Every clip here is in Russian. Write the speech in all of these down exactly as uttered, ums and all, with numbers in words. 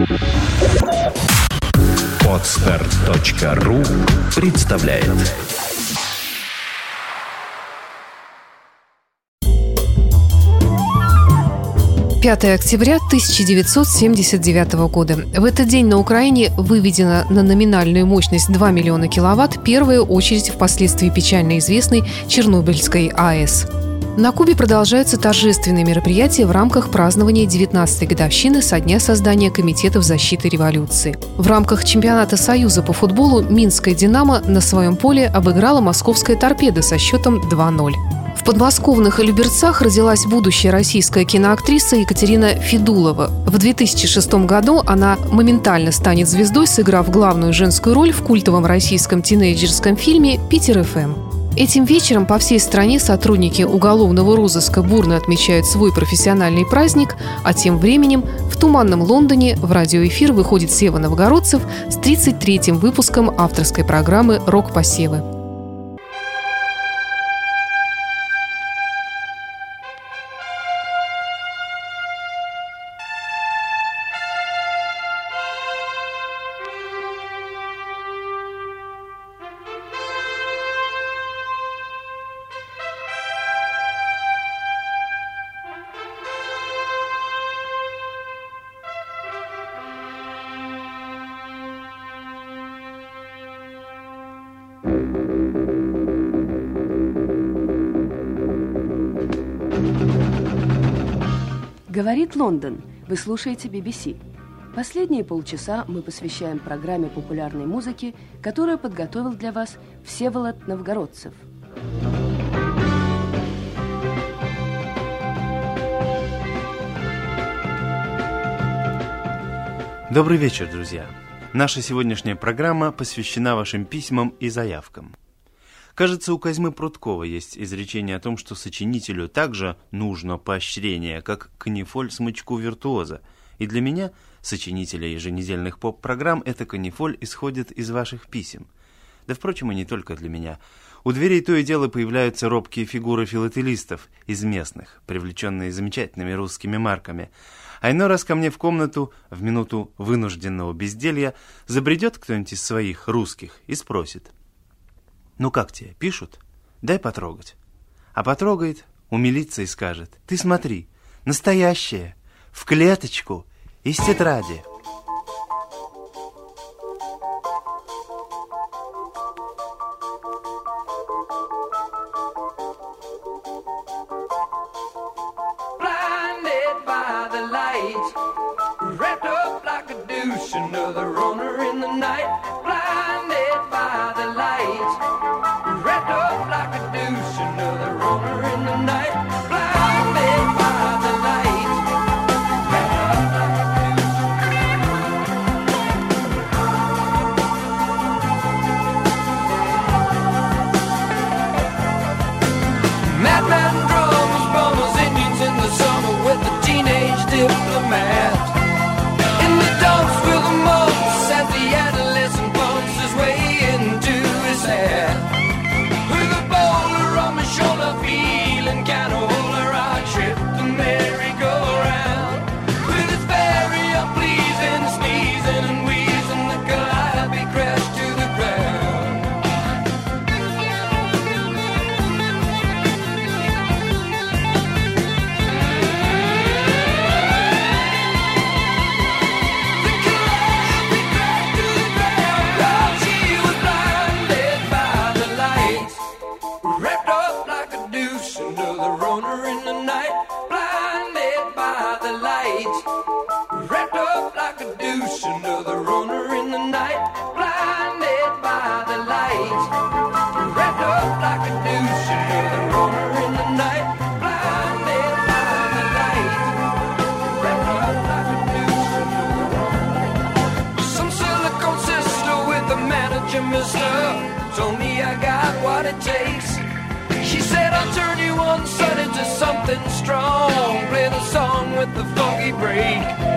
Подстер точка ру представляет. пятое октября тысяча девятьсот семьдесят девятого года. В этот день на Украине выведена на номинальную мощность два миллиона киловатт первая очередь впоследствии печально известной Чернобыльской АЭС. На Кубе продолжаются торжественные мероприятия в рамках празднования девятнадцатой годовщины со дня создания Комитетов защиты революции. В рамках чемпионата Союза по футболу Минская «Динамо» на своем поле обыграла московская «Торпедо» со счетом два ноль. В подмосковных Люберцах родилась будущая российская киноактриса Екатерина Федулова. В две тысячи шестом году она моментально станет звездой, сыграв главную женскую роль в культовом российском тинейджерском фильме «Питер эф эм». Этим вечером по всей стране сотрудники уголовного розыска бурно отмечают свой профессиональный праздник, а тем временем в туманном Лондоне в радиоэфир выходит Сева Новгородцев с тридцать третьим выпуском авторской программы «Рок-посевы». Говорит Лондон. Вы слушаете би би си. Последние полчаса мы посвящаем программе популярной музыки, которую подготовил для вас Всеволод Новгородцев. Добрый вечер, друзья. Наша сегодняшняя программа посвящена вашим письмам и заявкам. Кажется, у Козьмы Прудкова есть изречение о том, что сочинителю также нужно поощрение, как канифоль смычку виртуоза. И для меня, сочинителя еженедельных поп-программ, эта канифоль исходит из ваших писем. Да, впрочем, и не только для меня. У дверей то и дело появляются робкие фигуры филателистов из местных, привлеченные замечательными русскими марками. А иной раз ко мне в комнату, в минуту вынужденного безделья, забредет кто-нибудь из своих русских и спросит: «Ну как тебе, пишут? Дай потрогать». А потрогает, умилится и скажет: «Ты смотри, настоящее, в клеточку, из тетради». Told me I got what it takes. She said I'll turn you on sun into something strong. Play the song with the funky break.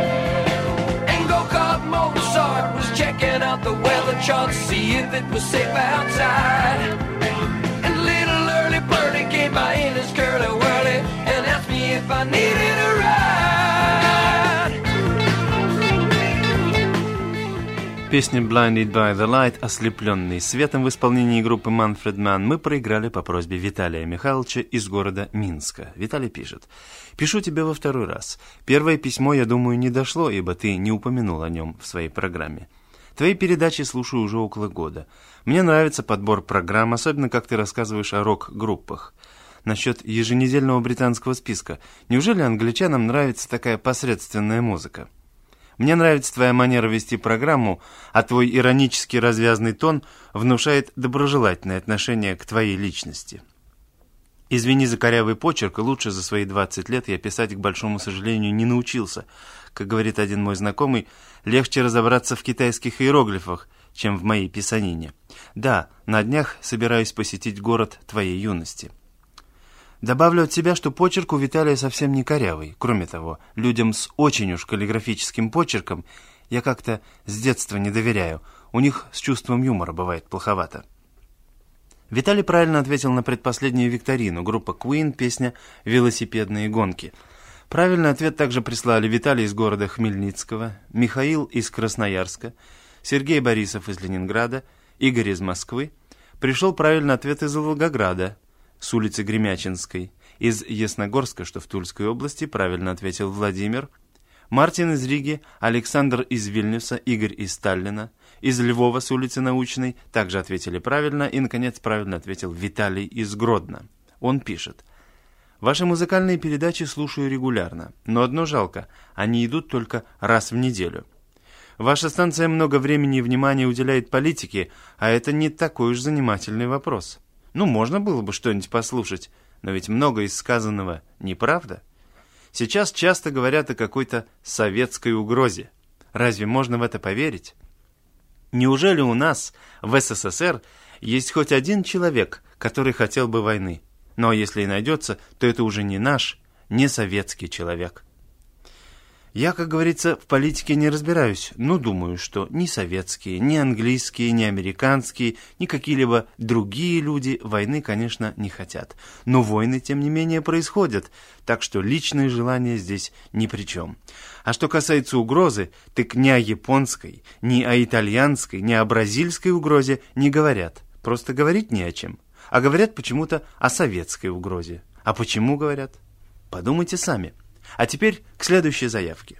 And go-kart Mozart was checking out the weather chart to see if it was safe outside. And little early birdie came by in his curly whirly and asked me if I needed a ride. песне «Blinded by the Light», «Ослепленный светом» в исполнении группы Manfred Mann мы проиграли по просьбе Виталия Михайловича из города Минска. Виталий пишет: «Пишу тебе во второй раз. Первое письмо, я думаю, не дошло, ибо ты не упомянул о нем в своей программе. Твои передачи слушаю уже около года. Мне нравится подбор программ, особенно как ты рассказываешь о рок-группах. Насчет еженедельного британского списка. Неужели англичанам нравится такая посредственная музыка? Мне нравится твоя манера вести программу, а твой иронически развязный тон внушает доброжелательное отношение к твоей личности. Извини за корявый почерк, и лучше за свои двадцать лет я писать, к большому сожалению, не научился. Как говорит один мой знакомый, легче разобраться в китайских иероглифах, чем в моей писанине. Да, на днях собираюсь посетить город твоей юности». Добавлю от себя, что почерк у Виталия совсем не корявый. Кроме того, людям с очень уж каллиграфическим почерком я как-то с детства не доверяю. У них с чувством юмора бывает плоховато. Виталий правильно ответил на предпоследнюю викторину. Группа Queen, песня «Велосипедные гонки». Правильный ответ также прислали Виталий из города Хмельницкого, Михаил из Красноярска, Сергей Борисов из Ленинграда, Игорь из Москвы. Пришел правильный ответ из Волгограда, с улицы Гремячинской. Из Ясногорска, что в Тульской области, правильно ответил Владимир. Мартин из Риги, Александр из Вильнюса, Игорь из Таллина. Из Львова с улицы Научной также ответили правильно. И, наконец, правильно ответил Виталий из Гродно. Он пишет: «Ваши музыкальные передачи слушаю регулярно, но одно жалко, они идут только раз в неделю. Ваша станция много времени и внимания уделяет политике, а это не такой уж занимательный вопрос. Ну, можно было бы что-нибудь послушать, но ведь много из сказанного неправда. Сейчас часто говорят о какой-то советской угрозе. Разве можно в это поверить? Неужели у нас в СССР есть хоть один человек, который хотел бы войны? Но если и найдется, то это уже не наш, не советский человек. Я, как говорится, в политике не разбираюсь, но думаю, что ни советские, ни английские, ни американские, ни какие-либо другие люди войны, конечно, не хотят. Но войны, тем не менее, происходят, так что личные желания здесь ни при чем. А что касается угрозы, так ни о японской, ни о итальянской, ни о бразильской угрозе не говорят. Просто говорить не о чем. А говорят почему-то о советской угрозе. А почему говорят? Подумайте сами. А теперь к следующей заявке.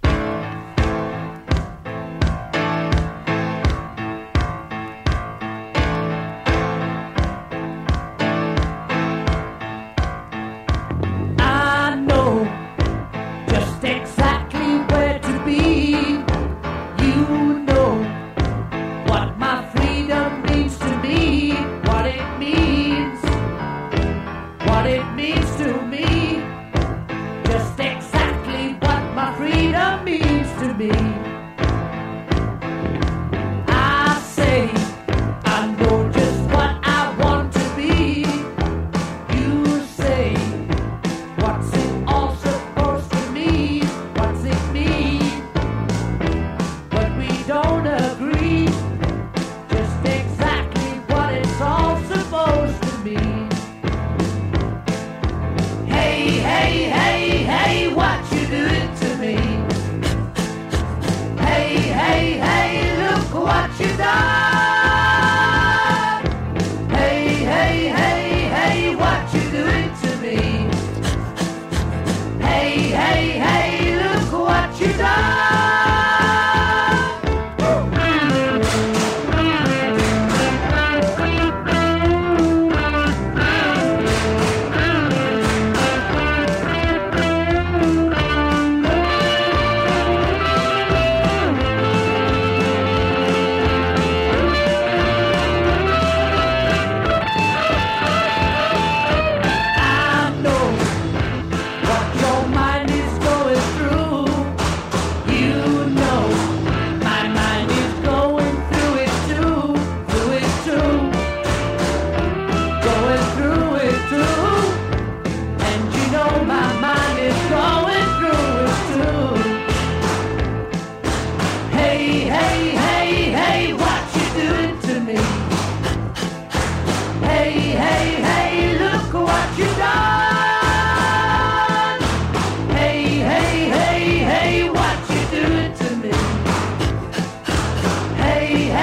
Hey,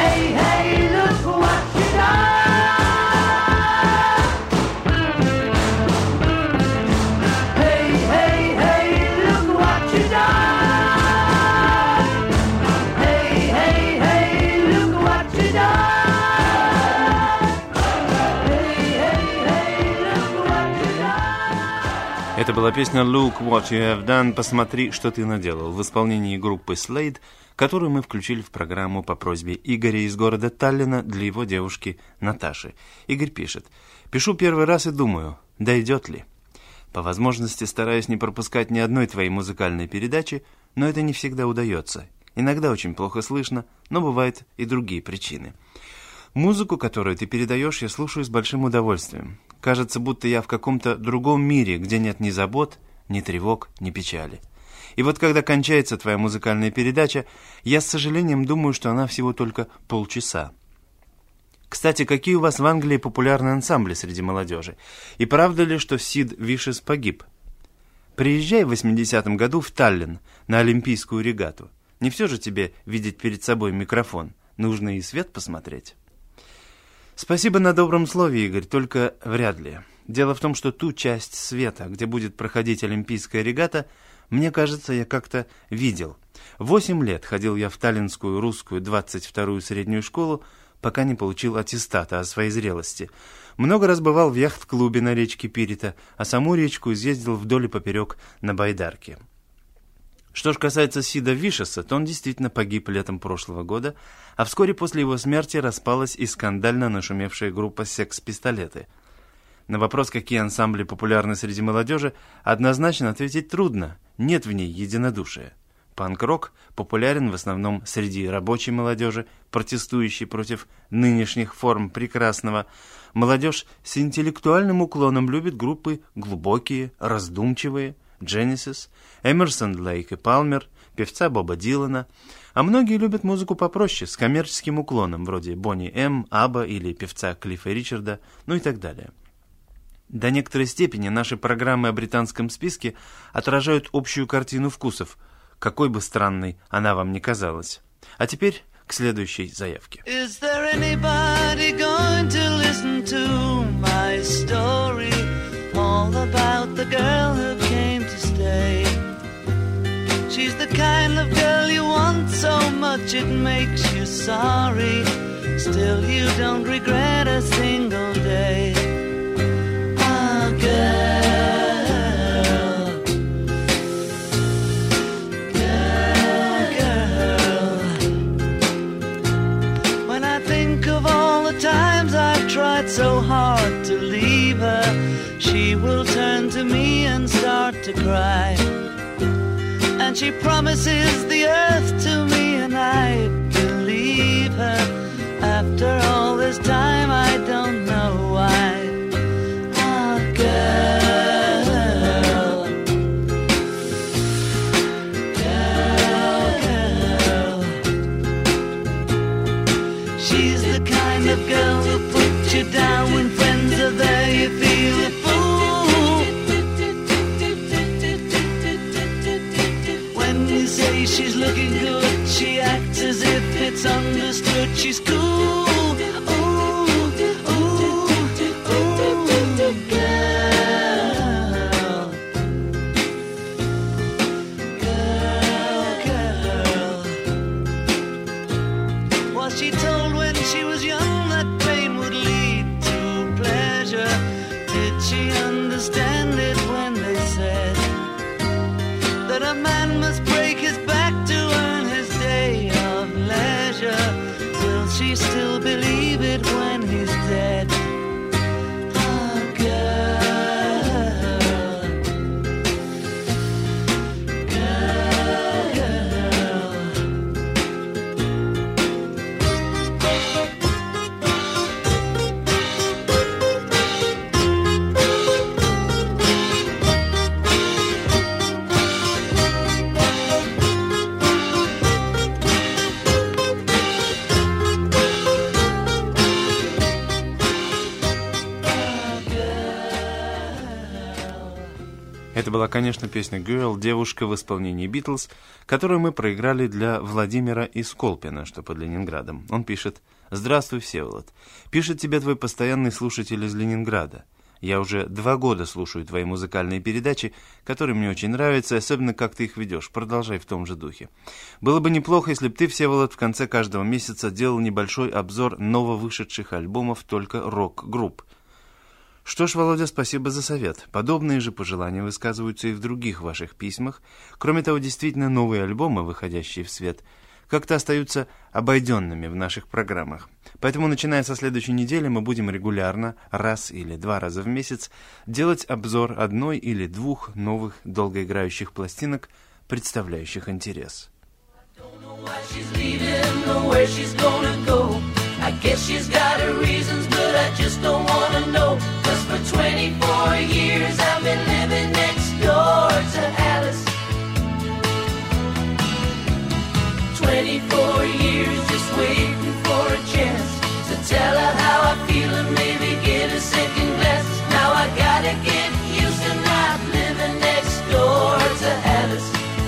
Это была песня «Look what you have done», «Посмотри, что ты наделал» в исполнении группы Slade, которую мы включили в программу по просьбе Игоря из города Таллина для его девушки Наташи. Игорь пишет: «Пишу первый раз и думаю, дойдет ли? По возможности стараюсь не пропускать ни одной твоей музыкальной передачи, но это не всегда удается. Иногда очень плохо слышно, но бывают и другие причины. Музыку, которую ты передаешь, я слушаю с большим удовольствием. Кажется, будто я в каком-то другом мире, где нет ни забот, ни тревог, ни печали. И вот когда кончается твоя музыкальная передача, я с сожалением думаю, что она всего только полчаса. Кстати, какие у вас в Англии популярные ансамбли среди молодежи? И правда ли, что Сид Вишес погиб? Приезжай в восьмидесятом году в Таллин на Олимпийскую регату. Не все же тебе видеть перед собой микрофон. Нужно и свет посмотреть». Спасибо на добром слове, Игорь, только вряд ли. Дело в том, что ту часть света, где будет проходить Олимпийская регата, мне кажется, я как-то видел. Восемь лет ходил я в Таллинскую русскую двадцать вторую среднюю школу, пока не получил аттестата о своей зрелости. Много раз бывал в яхт-клубе на речке Пирита, а саму речку изъездил вдоль и поперек на байдарке. Что ж касается Сида Вишеса, то он действительно погиб летом прошлого года, а вскоре после его смерти распалась и скандально нашумевшая группа «Секс-пистолеты». На вопрос, какие ансамбли популярны среди молодежи, однозначно ответить трудно, нет в ней единодушия. Панк-рок популярен в основном среди рабочей молодежи, протестующей против нынешних форм прекрасного. Молодежь с интеллектуальным уклоном любит группы глубокие, раздумчивые, Genesis, Эмерсон, Лейк и Палмер, певца Боба Дилана, а многие любят музыку попроще, с коммерческим уклоном, вроде Бонни М, Абба или певца Клиффа Ричарда, ну и так далее. До некоторой степени наши программы о британском списке отражают общую картину вкусов, какой бы странной она вам ни казалась. А теперь к следующей заявке. Is there anybody going to listen to my story? All about the girl who came to stay. She's the kind of girl you want so much it makes you sorry. Still you don't regret a single day. Ah, girl, girl, girl. When I think of all the times I've tried so hard to leave her, she will turn to me and start to cry. And she promises the earth to me and I believe her. After all this time I don't know why. Ah, girl, girl, girl. She's the kind of girl who puts you down when friends are there. You feel a fool when you say she's looking good. She acts as if it's understood. She's cool. Ooh, ooh, ooh, girl, girl, girl. Was she told when she was young that pain would lead to pleasure? Did she understand it when they said that a man must break his back to earn his day of leisure? Will she still believe it when he's dead? Ah, girl, girl, girl. Это была, конечно, песня «Girl», «Девушка» в исполнении «Битлз», которую мы проиграли для Владимира из Колпина, что под Ленинградом. Он пишет: «Здравствуй, Всеволод. Пишет тебе твой постоянный слушатель из Ленинграда. Я уже два года слушаю твои музыкальные передачи, которые мне очень нравятся, особенно как ты их ведешь. Продолжай в том же духе. Было бы неплохо, если бы ты, Всеволод, в конце каждого месяца делал небольшой обзор нововышедших альбомов только рок-групп. Что ж, Володя, спасибо за совет. Подобные же пожелания высказываются и в других ваших письмах. Кроме того, действительно, новые альбомы, выходящие в свет, как-то остаются обойденными в наших программах. Поэтому, начиная со следующей недели, мы будем регулярно, раз или два раза в месяц, делать обзор одной или двух новых долгоиграющих пластинок, представляющих интерес. I guess she's got her reasons, but I just don't wanna know. Cause for twenty-four years I've been living next door to Alice. twenty-four years just waiting for a chance to tell her how I feel and maybe get a second glance. Now I gotta get used to not living next door to Alice.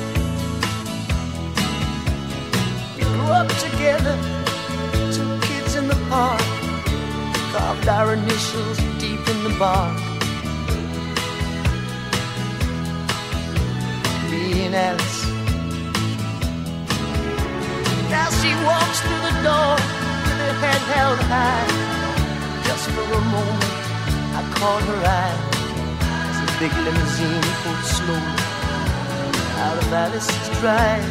We grew up together, in the park, carved our initials deep in the bark. Me and Alice. Now she walks through the door with her head held high. Just for a moment I caught her eye as a big limousine pulled slowly out of Alice's drive.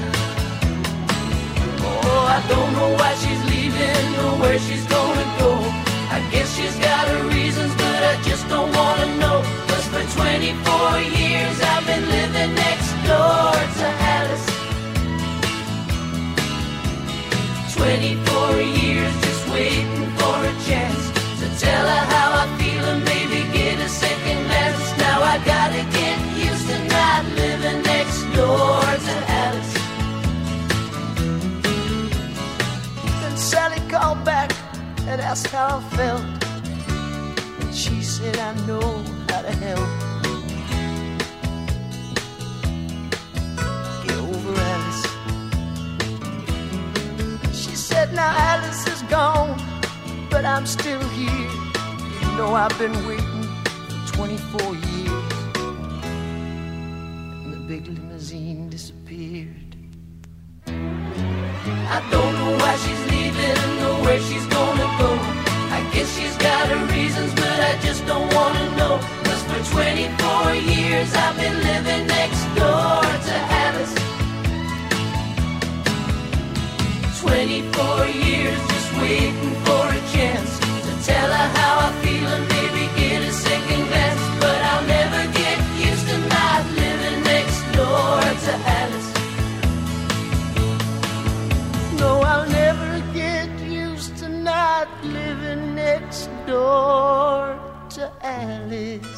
Oh, I don't know why she's leaving or where she's gonna go. I guess she's got her reasons, but I just don't wanna know. Cause for twenty-four years I've been living next door to Alice. twenty-four years just waiting for a chance to tell her how I feel and maybe get a second glance. Now I gotta get used to not living next door to Alice. Sally called back and asked how I felt, and she said, I know how to help. Get over Alice. She said, now Alice is gone, but I'm still here. You know I've been waiting for twenty-four years. And the big limousine disappeared. I don't know why she's leaving or where she's gonna go. I guess she's got her reasons, but I just don't wanna know. Cause for twenty-four years I've been living next door to Alice. twenty-four years just waiting for a chance to tell her how I feel and maybe get a second glance. But I'll never get used to not living next door to Alice. No, I'll never get used to not living next door to Alice.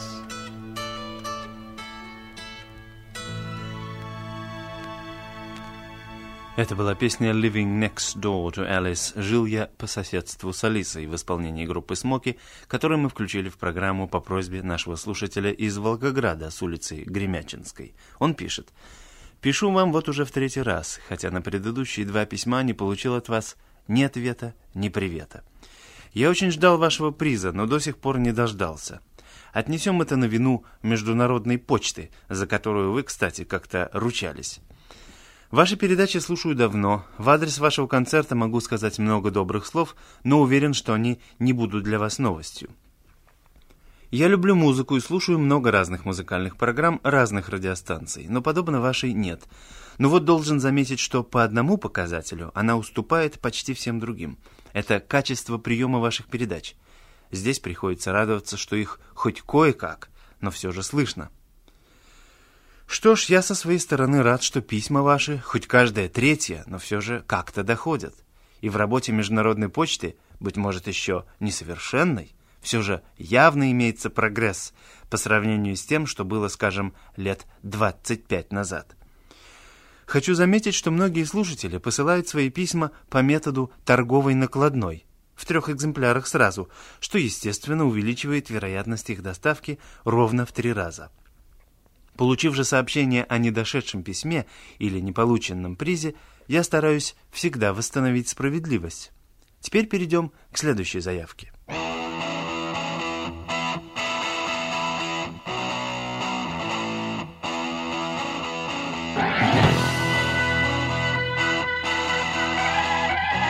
Это была песня «Living Next Door to Alice» «Жил я по соседству с Алисой» в исполнении группы «Смоки», которую мы включили в программу по просьбе нашего слушателя из Волгограда с улицы Гремячинской. Он пишет: «Пишу вам вот уже в третий раз, хотя на предыдущие два письма не получил от вас ни ответа, ни привета. Я очень ждал вашего приза, но до сих пор не дождался. Отнесем это на вину Международной почты, за которую вы, кстати, как-то ручались. Ваши передачи слушаю давно, в адрес вашего концерта могу сказать много добрых слов, но уверен, что они не будут для вас новостью. Я люблю музыку и слушаю много разных музыкальных программ разных радиостанций, но подобно вашей нет. Но вот должен заметить, что по одному показателю она уступает почти всем другим. Это качество приема ваших передач. Здесь приходится радоваться, что их хоть кое-как, но все же слышно. Что ж, я со своей стороны рад, что письма ваши, хоть каждое третье, но все же как-то доходят. И в работе Международной почты, быть может, еще несовершенной, все же явно имеется прогресс по сравнению с тем, что было, скажем, лет двадцать пять назад. Хочу заметить, что многие слушатели посылают свои письма по методу торговой накладной, в трех экземплярах сразу, что, естественно, увеличивает вероятность их доставки ровно в три раза. Получив же сообщение о недошедшем письме или неполученном призе, я стараюсь всегда восстановить справедливость. Теперь перейдем к следующей заявке.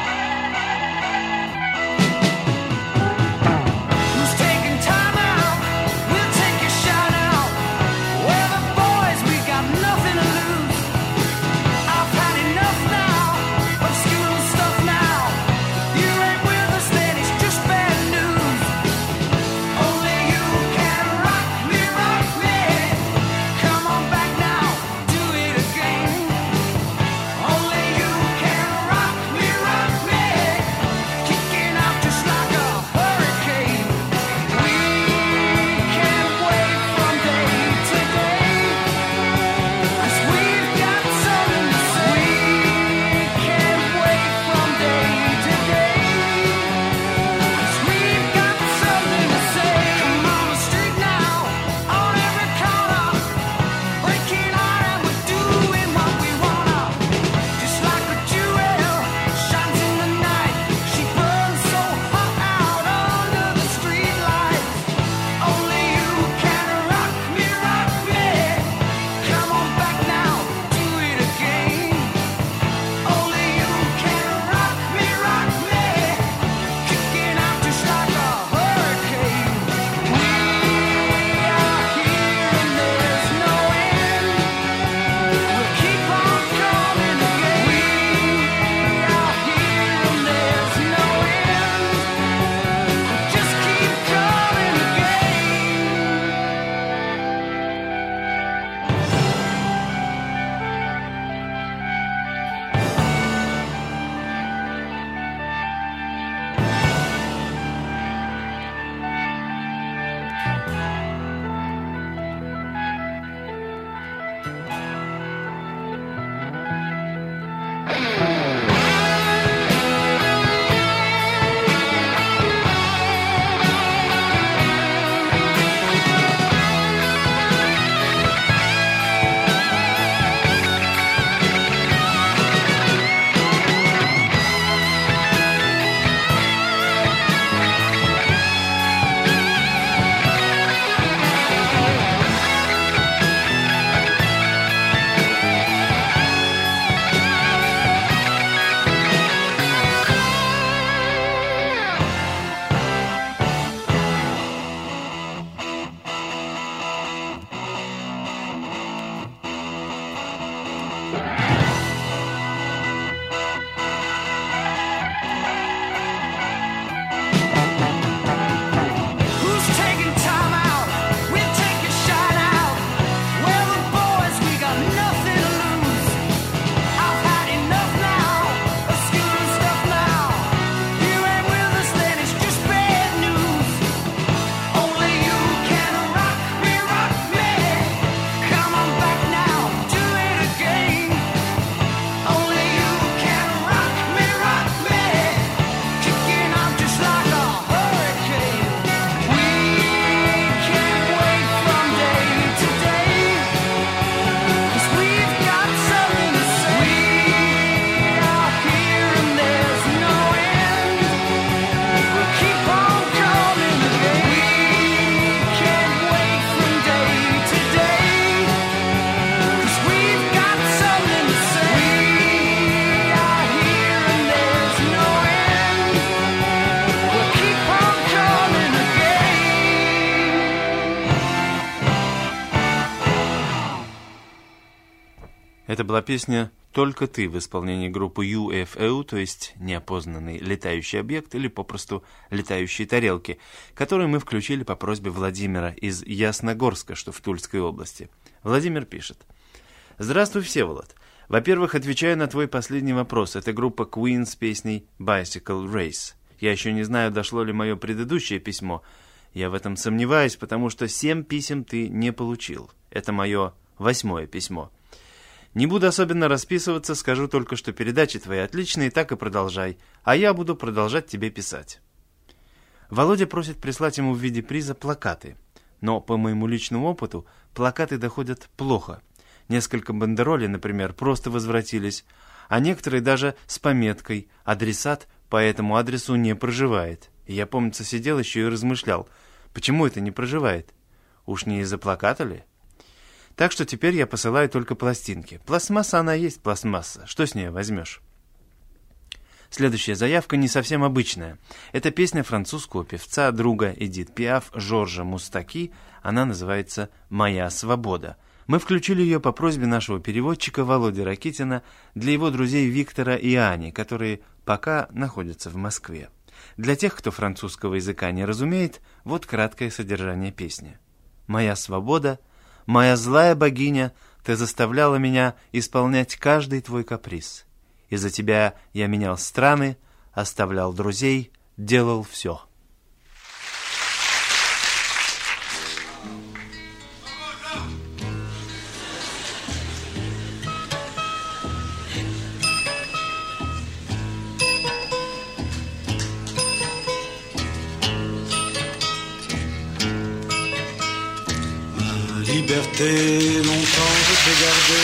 Who's taking time out Это была песня «Только ты» в исполнении группы ю эф о, то есть неопознанный летающий объект или попросту летающие тарелки, которые мы включили по просьбе Владимира из Ясногорска, что в Тульской области. Владимир пишет: «Здравствуй, Всеволод. Во-первых, отвечаю на твой последний вопрос. Это группа Queen с песней «Bicycle Race». Я еще не знаю, дошло ли мое предыдущее письмо. Я в этом сомневаюсь, потому что семь писем ты не получил. Это мое восьмое письмо. Не буду особенно расписываться, скажу только, что передачи твои отличные, так и продолжай, а я буду продолжать тебе писать». Володя просит прислать ему в виде приза плакаты, но по моему личному опыту плакаты доходят плохо. Несколько бандеролей, например, просто возвратились, а некоторые даже с пометкой «Адресат по этому адресу не проживает». И я, помнится, сидел еще и размышлял, почему это не проживает? Уж не из-за плаката ли? Так что теперь я посылаю только пластинки. Пластмасса она есть пластмасса. Что с нее возьмешь? Следующая заявка не совсем обычная. Это песня французского певца, друга Эдит Пиаф, Жоржа Мустаки. Она называется «Моя свобода». Мы включили ее по просьбе нашего переводчика Володи Ракитина для его друзей Виктора и Ани, которые пока находятся в Москве. Для тех, кто французского языка не разумеет, вот краткое содержание песни. «Моя свобода, моя злая богиня, ты заставляла меня исполнять каждый твой каприз. Из-за тебя я менял страны, оставлял друзей, делал все». Liberté, longtemps je t'ai gardé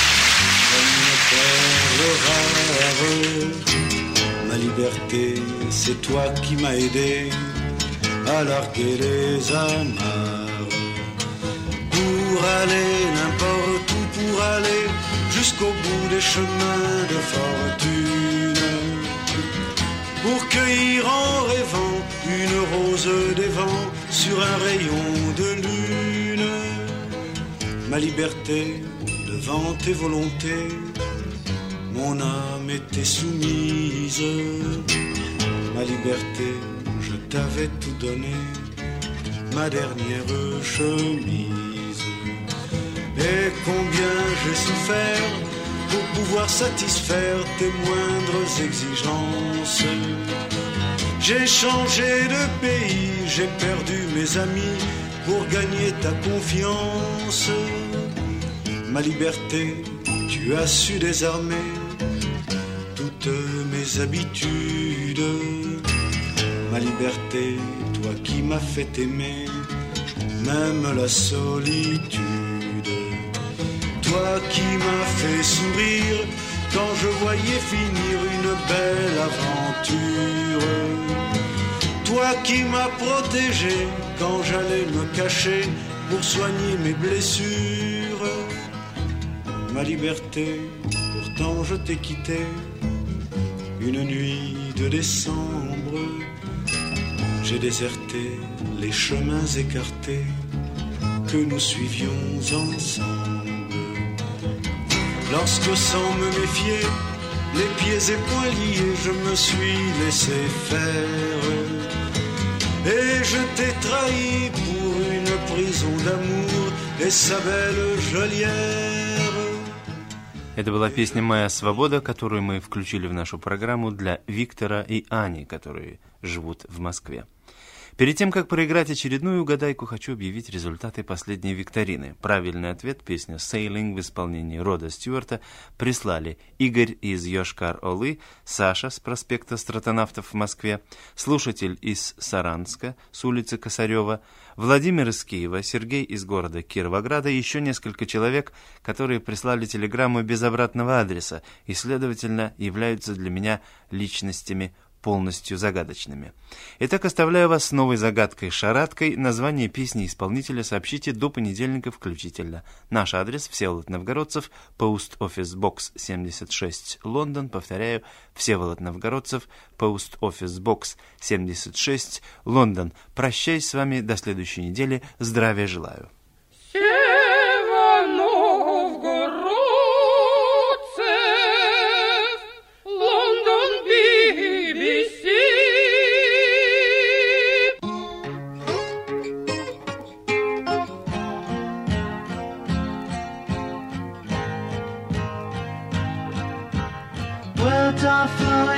comme une perle rare. Ma liberté, c'est toi qui m'as aidé à larguer les amarres. Pour aller n'importe où, pour aller jusqu'au bout des chemins de fortune. Pour cueillir en rêvant une rose des vents sur un rayon de lune. Ma liberté, devant tes volontés, mon âme était soumise. Ma liberté, je t'avais tout donné, ma dernière chemise. Et combien j'ai souffert pour pouvoir satisfaire tes moindres exigences. J'ai changé de pays, j'ai perdu mes amis pour gagner ta confiance. Ma liberté, tu as su désarmer toutes mes habitudes. Ma liberté, toi qui m'as fait aimer même la solitude. Toi qui m'as fait sourire quand je voyais finir une belle aventure. Toi qui m'as protégé quand j'allais me cacher pour soigner mes blessures. Ma liberté, pourtant je t'ai quitté une nuit de décembre. J'ai déserté les chemins écartés que nous suivions ensemble. Lorsque sans me méfier, les pieds et poings liés, je me suis laissé faire. Et je t'ai trahi pour une prison d'amour et sa belle geôlière. Это была песня «Моя свобода», которую мы включили в нашу программу для Виктора и Ани, которые живут в Москве. Перед тем, как проиграть очередную угадайку, хочу объявить результаты последней викторины. Правильный ответ, песня «Sailing» в исполнении Рода Стюарта, прислали Игорь из Йошкар-Олы, Саша с проспекта Стратонавтов в Москве, слушатель из Саранска с улицы Косарева, Владимир из Киева, Сергей из города Кировограда и еще несколько человек, которые прислали телеграмму без обратного адреса и, следовательно, являются для меня личностями полностью загадочными. Итак, оставляю вас с новой загадкой-шараткой. Название песни исполнителя сообщите до понедельника включительно. Наш адрес: Всеволод Новгородцев, Post Office Box семьдесят шесть, Лондон. Повторяю, Всеволод Новгородцев, Post Office Box семьдесят шесть, Лондон. Прощаюсь с вами до следующей недели. Здравия желаю. Сева Новгород.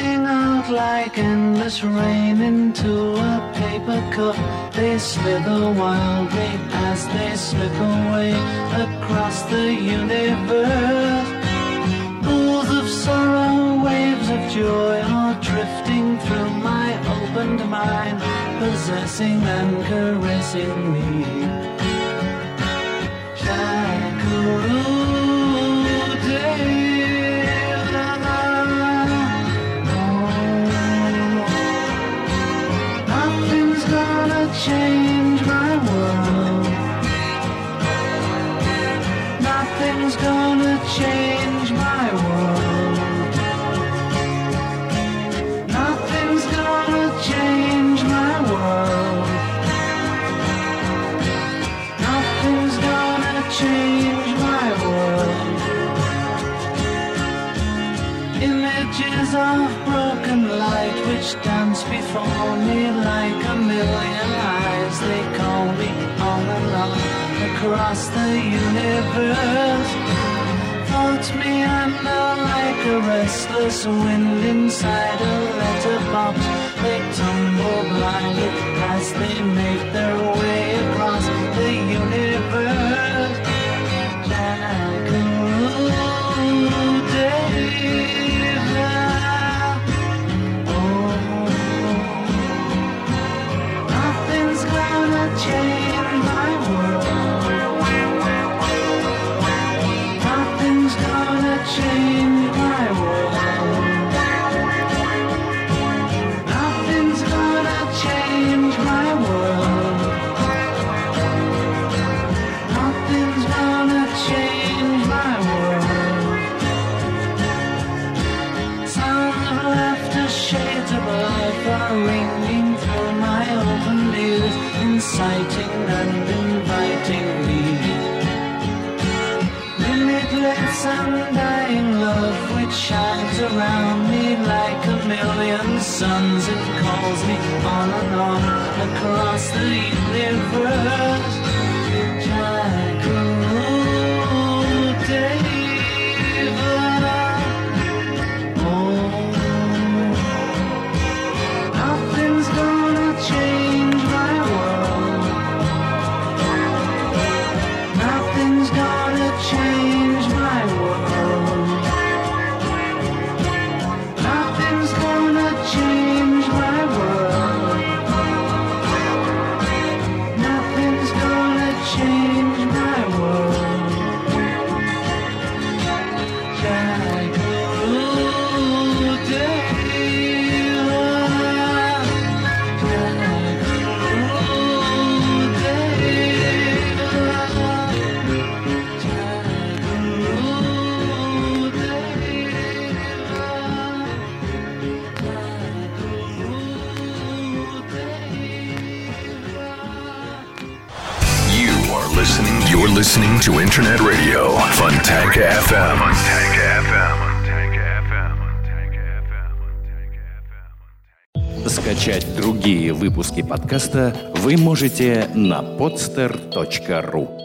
pouring out like endless rain into a paper cup. They slither wildly as they slip away across the universe. Pools of sorrow, waves of joy are drifting through my opened mind, possessing and caressing me. Nothing's gonna change my world. Nothing's gonna change my world. Nothing's gonna change my world. Nothing's gonna change my world. Images of broken light which dance before me like a million eyes. They call me on and on across the universe. Thoughts meander like a restless wind inside a letterbox. They tumble blindly as they make their way across the universe. Jackaroo David. Oh, nothing's gonna change my world. Nothing's gonna change my world. Nothing's gonna change my world. Nothing's gonna change my world. Sounds of laughter, shades of life are ringing through my open ears, inciting and inviting me. Limitless undying love which shines around me like a million suns. It calls me on and on across the universe. Jackaroo David. Oh, nothing's gonna change my world. Nothing's gonna change my world. Nothing's gonna change my world. Nothing's gonna change my world. Jackaroo David. Jackaroo David. You are listening. You're listening to Internet Radio Fontanka эф эм. Fontanka эф эм. Скачать другие выпуски подкаста вы можете на podster точка ru.